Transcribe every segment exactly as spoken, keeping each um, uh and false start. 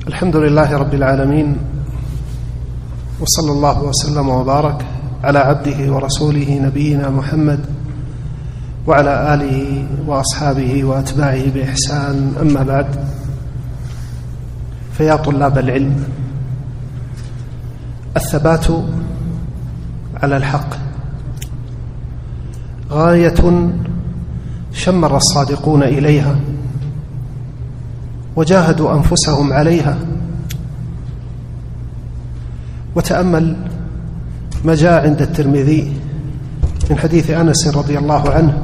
الحمد لله رب العالمين، وصلى الله وسلم وبارك على عبده ورسوله نبينا محمد وعلى آله وأصحابه وأتباعه بإحسان. أما بعد، فيا طلاب العلم، الثبات على الحق غاية شمر الصادقون إليها وجاهدوا أنفسهم عليها. وتأمل ما جاء عند الترمذي من حديث أنس رضي الله عنه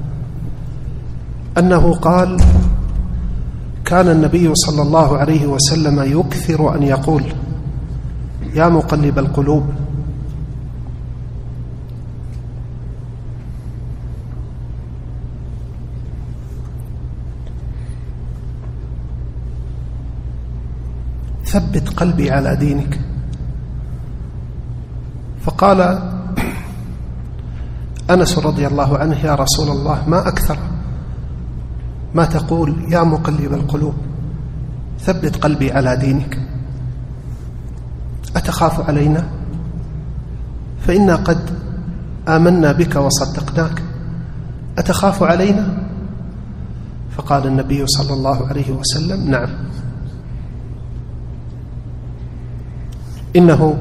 أنه قال: كان النبي صلى الله عليه وسلم يكثر أن يقول: يا مقلب القلوب ثبت قلبي على دينك. فقال أنس رضي الله عنه: يا رسول الله، ما أكثر ما تقول يا مقلب القلوب ثبت قلبي على دينك، أتخاف علينا؟ فإنا قد آمنا بك وصدقناك، أتخاف علينا؟ فقال النبي صلى الله عليه وسلم: نعم، إنه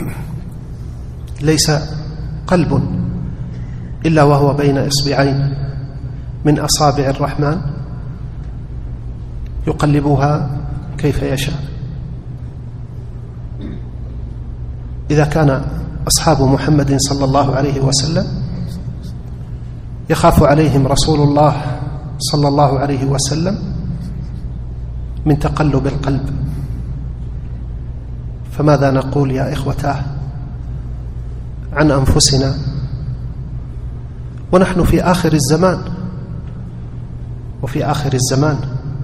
ليس قلب إلا وهو بين إصبعين من أصابع الرحمن يقلبها كيف يشاء. إذا كان أصحاب محمد صلى الله عليه وسلم يخاف عليهم رسول الله صلى الله عليه وسلم من تقلب القلب، فماذا نقول يا إخوتاه عن أنفسنا ونحن في آخر الزمان؟ وفي آخر الزمان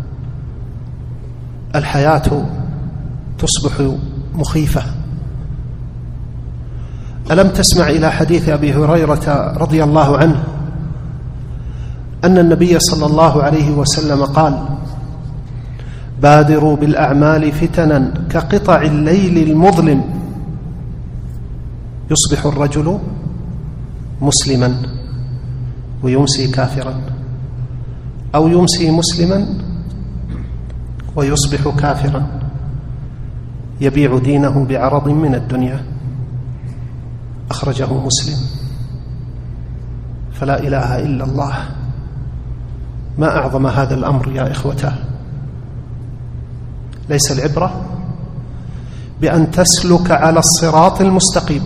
الحياة تصبح مخيفة. ألم تسمع إلى حديث أبي هريرة رضي الله عنه أن النبي صلى الله عليه وسلم قال: بادروا بالأعمال فتنا كقطع الليل المظلم، يصبح الرجل مسلما ويمسي كافرا، أو يمسي مسلما ويصبح كافرا، يبيع دينه بعرض من الدنيا. أخرجه مسلم. فلا إله إلا الله، ما أعظم هذا الأمر يا إخوته. ليس العبرة بأن تسلك على الصراط المستقيم،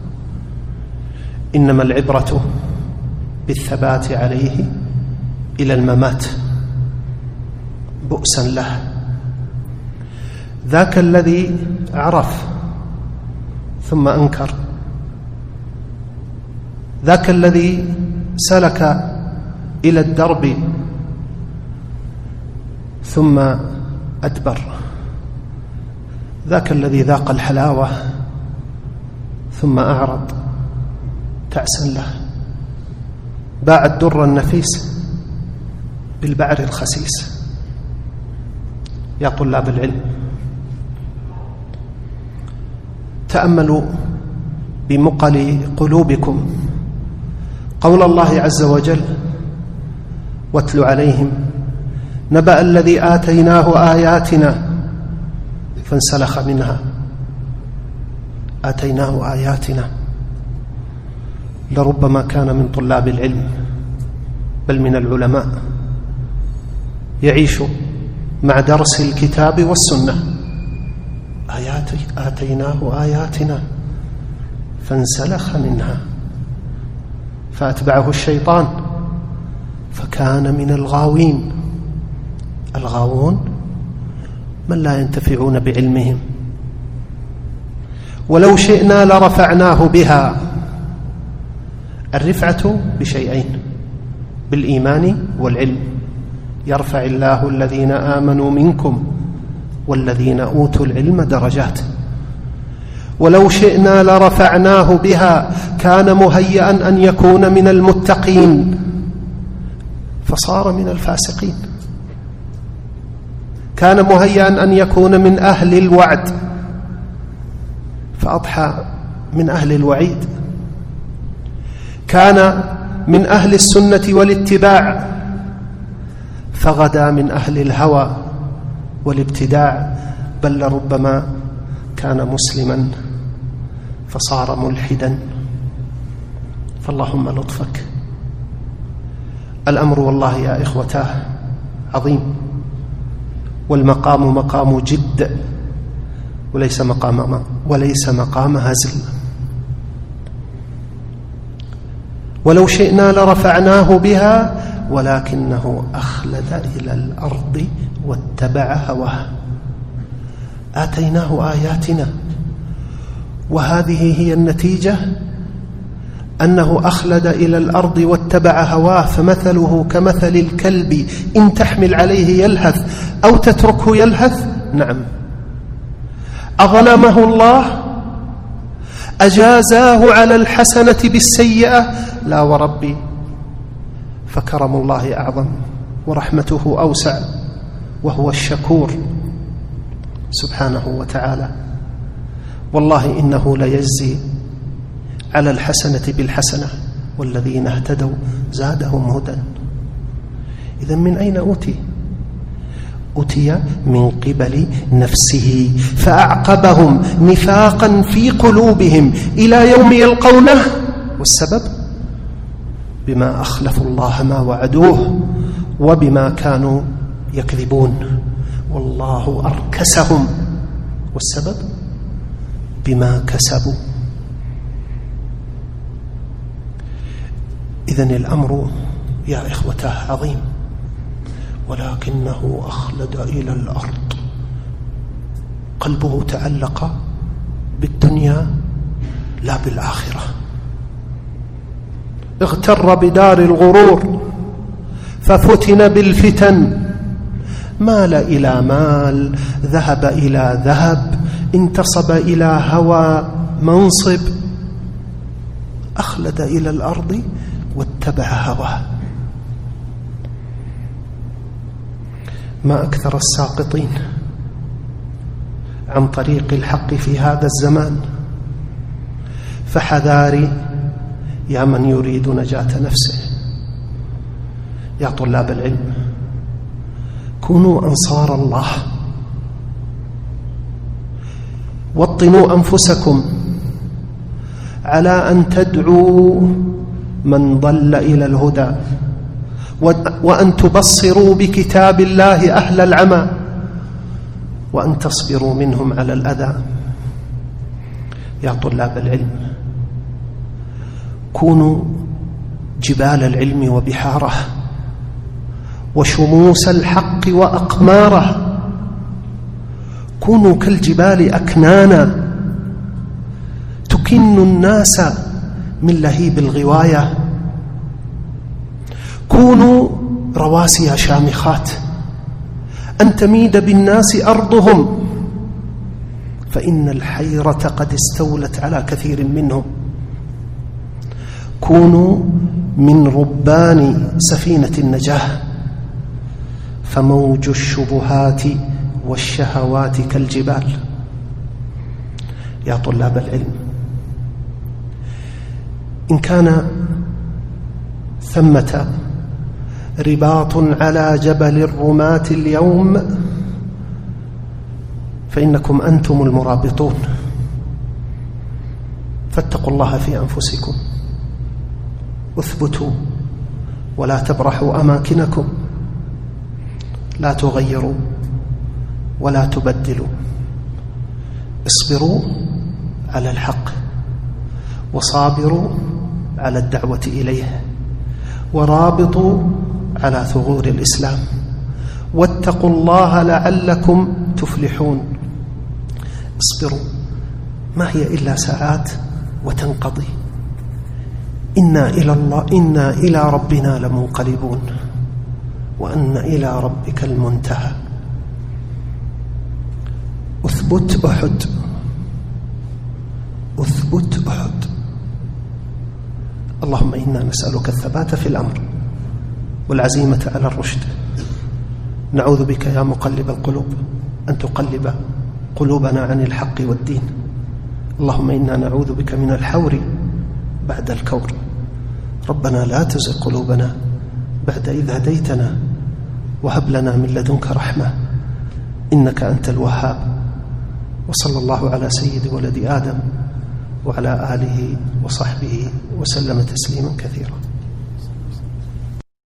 إنما العبرة بالثبات عليه إلى الممات. بؤسا له ذاك الذي عرف ثم أنكر، ذاك الذي سلك إلى الدرب ثم أدبر، ذاك الذي ذاق الحلاوة ثم أعرض. تعسا له، باع الدر النفيس بالبعر الخسيس. يا طلاب العلم، تأملوا بمقل قلوبكم قول الله عز وجل: واتل عليهم نبأ الذي آتيناه آياتنا فانسلخ منها. آتيناه آياتنا، لربما كان من طلاب العلم بل من العلماء يعيش مع درس الكتاب والسنة. آيات آتيناه آياتنا فانسلخ منها فأتبعه الشيطان فكان من الغاوين. الغاوون من لا ينتفعون بعلمهم. ولو شئنا لرفعناه بها. الرفعة بشيئين: بالإيمان والعلم. يرفع الله الذين آمنوا منكم والذين أوتوا العلم درجات. ولو شئنا لرفعناه بها، كان مهيئا أن يكون من المتقين فصار من الفاسقين. كان مهيئا أن يكون من أهل الوعد فأضحى من أهل الوعيد، كان من أهل السنة والاتباع فغدا من أهل الهوى والابتداع، بل ربما كان مسلما فصار ملحدا. فاللهم لطفك. الأمر والله يا إخوتاه عظيم، والمقام مقام جد وليس مقام وليس مقام هزل. ولو شئنا لرفعناه بها ولكنه أخلد إلى الأرض واتبع هواه. آتيناه آياتنا، وهذه هي النتيجة، أنه أخلد إلى الأرض واتبع هواه، فمثله كمثل الكلب إن تحمل عليه يلهث أو تتركه يلهث. نعم. أظلمه الله؟ أجازاه على الحسنة بالسيئة؟ لا وربي، فكرم الله أعظم ورحمته أوسع، وهو الشكور سبحانه وتعالى. والله إنه ليجزي على الحسنة بالحسنة، والذين اهتدوا زادهم هدى. إذن من أين أوتي؟ أتي من قبل نفسه فأعقبهم نفاقا في قلوبهم إلى يوم يلقونه. والسبب بما أخلفوا الله ما وعدوه وبما كانوا يكذبون، والله أركسهم. والسبب بما كسبوا. إذن الأمر يا إخوتاه عظيم، ولكنه أخلد إلى الأرض. قلبه تعلق بالدنيا لا بالآخرة، اغتر بدار الغرور ففتن بالفتن، مال إلى مال، ذهب إلى ذهب، انتصب إلى هوى منصب، أخلد إلى الأرض واتبع هواه. ما أكثر الساقطين عن طريق الحق في هذا الزمان، فحذاري يا من يريد نجاة نفسه. يا طلاب العلم، كونوا أنصار الله، وطنوا أنفسكم على أن تدعوا من ضل إلى الهدى، وأن تبصروا بكتاب الله أهل العمى، وأن تصبروا منهم على الأذى. يا طلاب العلم، كونوا جبال العلم وبحاره، وشموس الحق وأقماره. كونوا كالجبال أكنانا تكن الناس من لهيب الغواية. كونوا رواسي شامخات أن تميد بالناس أرضهم، فإن الحيرة قد استولت على كثير منهم. كونوا من ربان سفينة النجاة، فموج الشبهات والشهوات كالجبال. يا طلاب العلم، إن كان ثمة رباط على جبل الرماة اليوم، فإنكم أنتم المرابطون. فاتقوا الله في أنفسكم، اثبتوا ولا تبرحوا أماكنكم، لا تغيروا ولا تبدلوا. اصبروا على الحق، وصابروا على الدعوة إليه، ورابطوا على ثغور الإسلام، واتقوا الله لعلكم تفلحون. اصبروا، ما هي إلا ساعات وتنقضي. إنا إلى الله إنا إلى ربنا لمنقلبون، وأن إلى ربك المنتهى. أثبت أحد، أثبت أحد. اللهم إنا نسألك الثبات في الأمر والعزيمة على الرشد. نعوذ بك يا مقلب القلوب أن تقلب قلوبنا عن الحق والدين. اللهم إنا نعوذ بك من الحور بعد الكور. ربنا لا تزغ قلوبنا بعد إذ هديتنا وهب لنا من لدنك رحمة إنك أنت الوهاب. وصلى الله على سيد ولد آدم وعلى آله وصحبه وسلم تسليما كثيرا.